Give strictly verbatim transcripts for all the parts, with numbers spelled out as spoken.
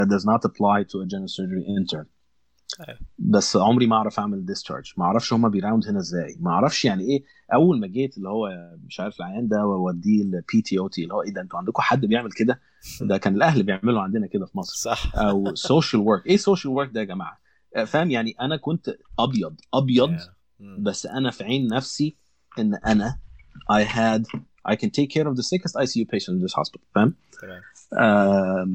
that does not apply to a general surgery intern. أيوة. بس عمري ما اعرف اعمل discharge، ما اعرفش هما بيراوند هنا ازاي، ما اعرفش يعني ايه. اول ما جيت اللي هو مش عارف العيان ده واوديه البي تي او تي، اللي هو ايه ده انتوا عندكم حد بيعمل كده؟ ده كان الاهل بيعملوا عندنا كده في مصر. صح. او social work، ايه social work ده يا جماعه؟ فاهم يعني انا كنت ابيض ابيض Yeah. Mm. بس انا في عين نفسي ان انا I had I can take care of the sickest I C U patient in this hospital. فاهم؟ تمام. آم،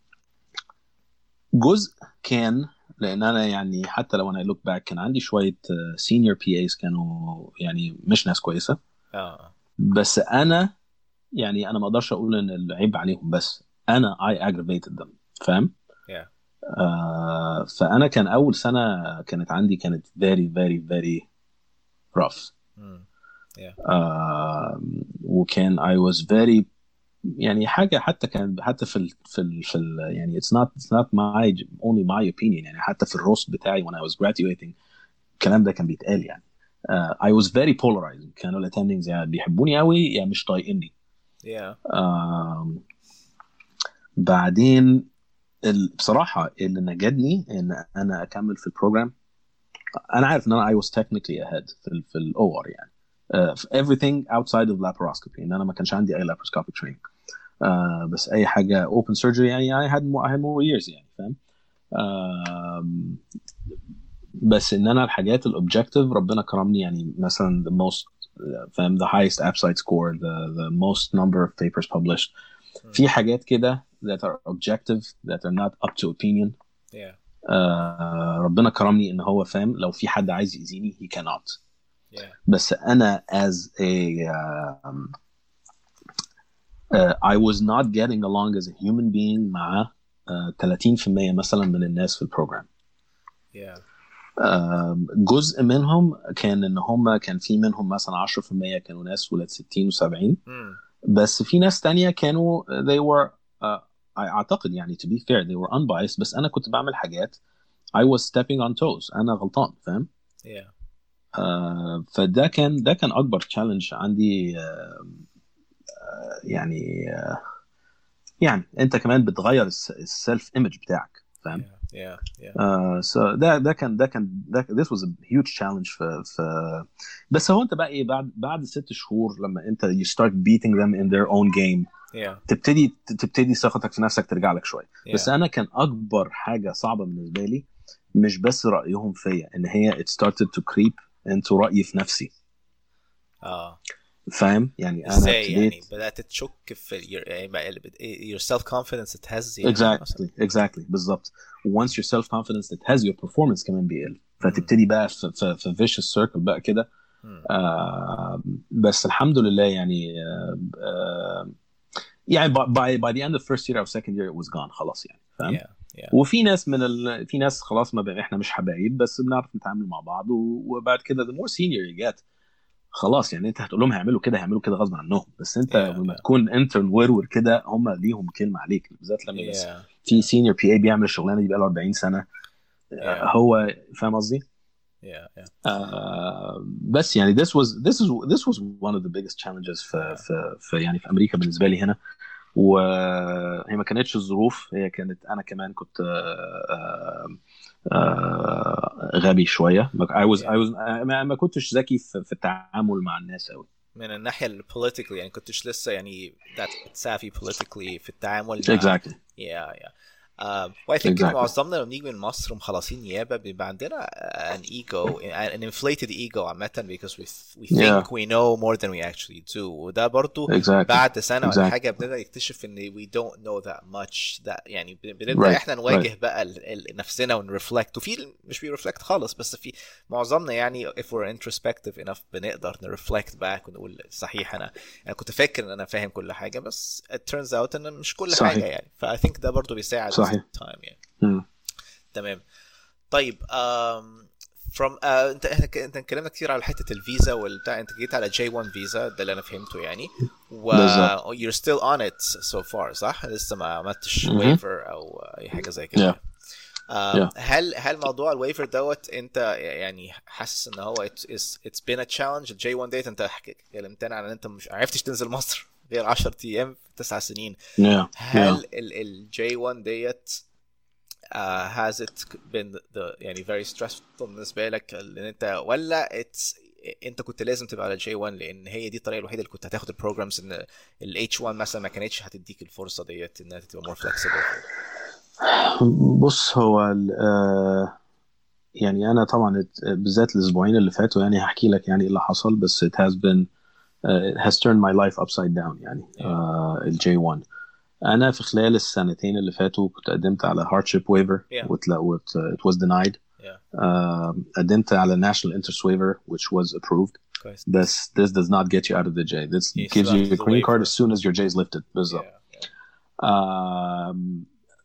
جزء كان لان انا يعني حتى لو انا look back كان عندي شويه uh, senior بي ايز كانوا يعني مش ناس كويسه، اه بس انا يعني انا ما اقدرش اقول ان العيب عليهم، بس انا I aggravated them. فاهم؟ yeah. آه فانا كان اول سنه كانت عندي كانت very very very rough. Mm. Yeah. آه وكان I was very يعني حاجه حتى كان حتى في ال في ال في ال يعني it's not it's not my only my opinion، يعني حتى في الروست بتاعي when I was graduating الكلام ده كان بيتقال يعني. uh, I was very polarizing. كانوا ال attendings يعني بيحبوني قوي يا مش طايقيني. Yeah. uh, بعدين ال- بصراحه اللي نجدني ان انا اكمل في البروجرام. انا عارف ان انا I was technically ahead في ال في الاو ار يعني uh, في everything outside of laparoscopy، ان انا ما كانش عندي اي laparoscopic training. uh, بس اي حاجه open surgery يعني I had more, I had more years يعني. فاهم؟ uh, بس ان انا الحاجات الاوبجكتيف ربنا كرمني يعني مثلا the most فاهم the highest AppSite score, the the most number of papers published. Mm. في حاجات كده that are objective that are not up to opinion. Yeah. uh, ربنا كرمني ان هو فاهم لو في حد عايز يأذيني he cannot. Yeah. بس انا as a um, uh, I was not getting along as a human being مع uh, ثلاثين في المية مثلا من الناس في البروجرام. Yeah. آم، جزء منهم كان ان هم كان في منهم مثلا عشرة في المية كانوا ناس ولاد ستين و70، Mm. بس في ناس تانية كانوا they were uh, اعتقد يعني to be fair they were unbiased، بس انا كنت بعمل حاجات I was stepping on toes، انا غلطان. فاهم؟ Yeah. آه فده كان ده كان اكبر تشالنج عندي. آه يعني آه يعني انت كمان بتغير السيلف ايمج بتاعك. فاهم؟ Yeah. Yeah. Yeah. Uh, so ده ده كان ده كان ده this was a huge challenge في في بس هو انت بقى ايه بعد بعد ست شهور لما انت you start beating them in their own game Yeah. تبتدي تبتدي ثقتك في نفسك ترجع لك شويه. Yeah. بس انا كان اكبر حاجه صعبه بالنسبه لي مش بس رايهم فيا، ان هي it started to creep into رايي في نفسي. اه فاهم؟ يعني انا ازاي يعني ابتديت بدأت تشك في your, يعني بقى اللي بت- your self confidence اتهز يعني مثلا؟ exactly exactly بالظبط. once your self confidence it has your performance كمان بيقل، مم. فتبتدي بقى في في, في vicious circle بقى كده. مم. آه بس الحمد لله يعني آه آه يعني by by the end of first year or second year it was gone خلاص يعني. فاهم؟ Yeah. Yeah. وفي ناس من ال... في ناس خلاص ما بقى احنا مش حبايب بس بنعرف نتعامل مع بعض، و... وبعد كده the more senior you get خلاص يعني انت هتقول لهم هيعملوا كده هيعملوا كده غصب عنهم، بس انت Yeah. لما Yeah. تكون انترن ورور كده هم ليهم كلمه عليك، بالذات لما بس Yeah. في سينيور بي اي بيعمل الشغلانه دي بقى له أربعين سنه. آه، Yeah. هو فاهم قصدي؟ Yeah. Yeah. آه، بس يعني this was this is this was one of the biggest challenges في Yeah. في, في يعني في امريكا بالنسبه لي هنا. وهي ما كانتش الظروف، هي كانت انا كمان كنت آه، آه، غبي شويه. I was I Yeah. was ما ما كنتش ذكي في في التعامل مع الناس قوي. من الناحية ال politically يعني كنتش لسه يعني that savvy politically في التعامل مع exactly yeah yeah um, well I think إن exactly معظمنا لما بنيجي من مصر مخلصين نيابة بيبقى عندنا an ego an inflated ego عامة because we we yeah think we know more than we actually do. وده برضو exactly بعد سنة ولا exactly حاجة بنبدأ نكتشف إن we don't know that much that يعني بنبدأ right إحنا right نواجه بقى ال ال نفسنا ونرفلكت، وفي مش بيرفلكت خالص بس في معظمنا يعني if we're introspective enough بنقدر نرفلكت باك ونقول صحيح أنا أنا كنت فاكر إن أنا فاهم كل حاجة بس it turns out إن مش كل حاجة صحيح يعني. ف I think ده برضو بيساعد with صحيح time يعني. مم. تمام. طيب um, from uh, انت احنا ك- انت اتكلمنا كتير على حته الفيزا والبتاع، انت جيت على جي واحد فيزا ده اللي انا فهمته يعني، و بالظبط you're still on it so far صح؟ لسه ما عملتش مهم. waiver او اي حاجه زي كده yeah يعني. um, yeah هل هل موضوع الويفر دوت انت يعني حاسس ان هو it's, it's, it's been a challenge؟ الجي واحد ديت انت كلمتنا عن ان انت مش عرفتش تنزل مصر غير عشرة ايام في تسع سنين. yeah yeah هل الجي واحد ديت uh, has it been the يعني very stressful بالنسبة لك لأن أنت ولا it's أنت كنت لازم تبقى على جي واحد لأن هي دي الطريقة الوحيدة اللي كنت هتاخد البروجرامز إن ال إتش واحد مثلا ما كانتش هتديك الفرصة ديت إنها تبقى more flexible؟ بص هو آه يعني أنا طبعا بالذات الأسبوعين اللي فاتوا يعني هحكي لك يعني إيه اللي حصل بس it has been uh, it has turned my life upside down يعني uh, ال جي واحد. أنا في خلال السنتين اللي فاتوا كنت قدمت على hardship waiver Yeah. وت, it was denied. Yeah. Uh, قدمت على national interest waiver which was approved. كويس. This this does not get you out of the J. This You gives still you have a the green card waiver. as soon as your J is lifted. بالظبط. Yeah. Yeah. Um,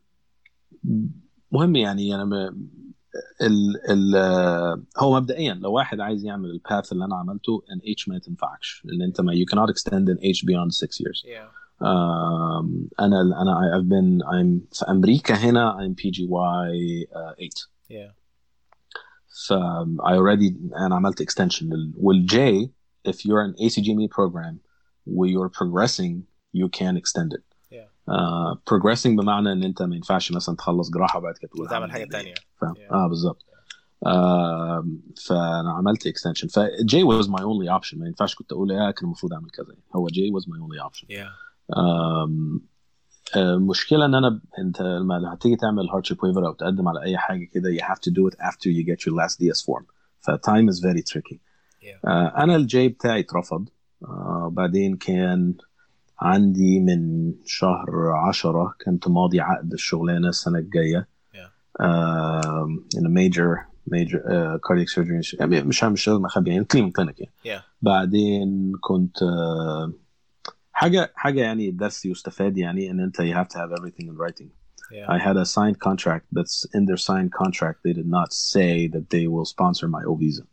مهم يعني أنا م... ال ال هو مبدئيا لو واحد عايز يعمل الباث اللي أنا عملته ان H ما تنفعش لأن أنت ما you cannot extend an H beyond six years. Yeah. Um, أنا أنا I've been I'm في أمريكا هنا I'm P G Y uh, eight. Yeah. So um, I already أنا عملت extension وال J if you're an A C G M E program where you're progressing you can extend it. Yeah. Uh, progressing بمعنى ان انت ما ينفعش مثلا تخلص جراحه وبعد كده تقول وتعمل حاجه تانية. فاهم Yeah. اه بالظبط. uh, فانا عملت extension ف J was my only option ما ينفعش كنت اقول يا كان المفروض اعمل كذا هو J was my only option. Yeah. um, المشكله ان انا انت لما هتيجي تعمل hardship waiver او تقدم على اي حاجه كده you have to do it after you get your last D S form ف time is very tricky. Yeah. uh, انا ال J بتاعي اترفض. uh, بعدين كان عندي من شهر عشرة كنت ماضي عقد الشغلانة السنة الجاية. yeah. uh, in a major major uh, cardiac surgery يعني مش مش لازم أخبي يعني clinic clinic يعني. yeah. بعدين كنت uh, حاجة حاجة يعني الدرس يستفاد يعني إن أنت you have to have everything in writing. yeah. I had a signed contract that's in their signed contract they did not say that they will sponsor my O visa.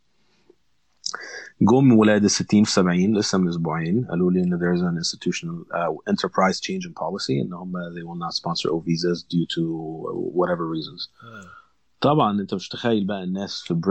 جم ولاد الستين في سبعين لسه من أسبوعين قالوا لي إن there's an institutional uh, enterprise change in policy إن هم they will not sponsor O visas due to whatever reasons. hmm. طبعا أنت مش تخيل بقى الناس في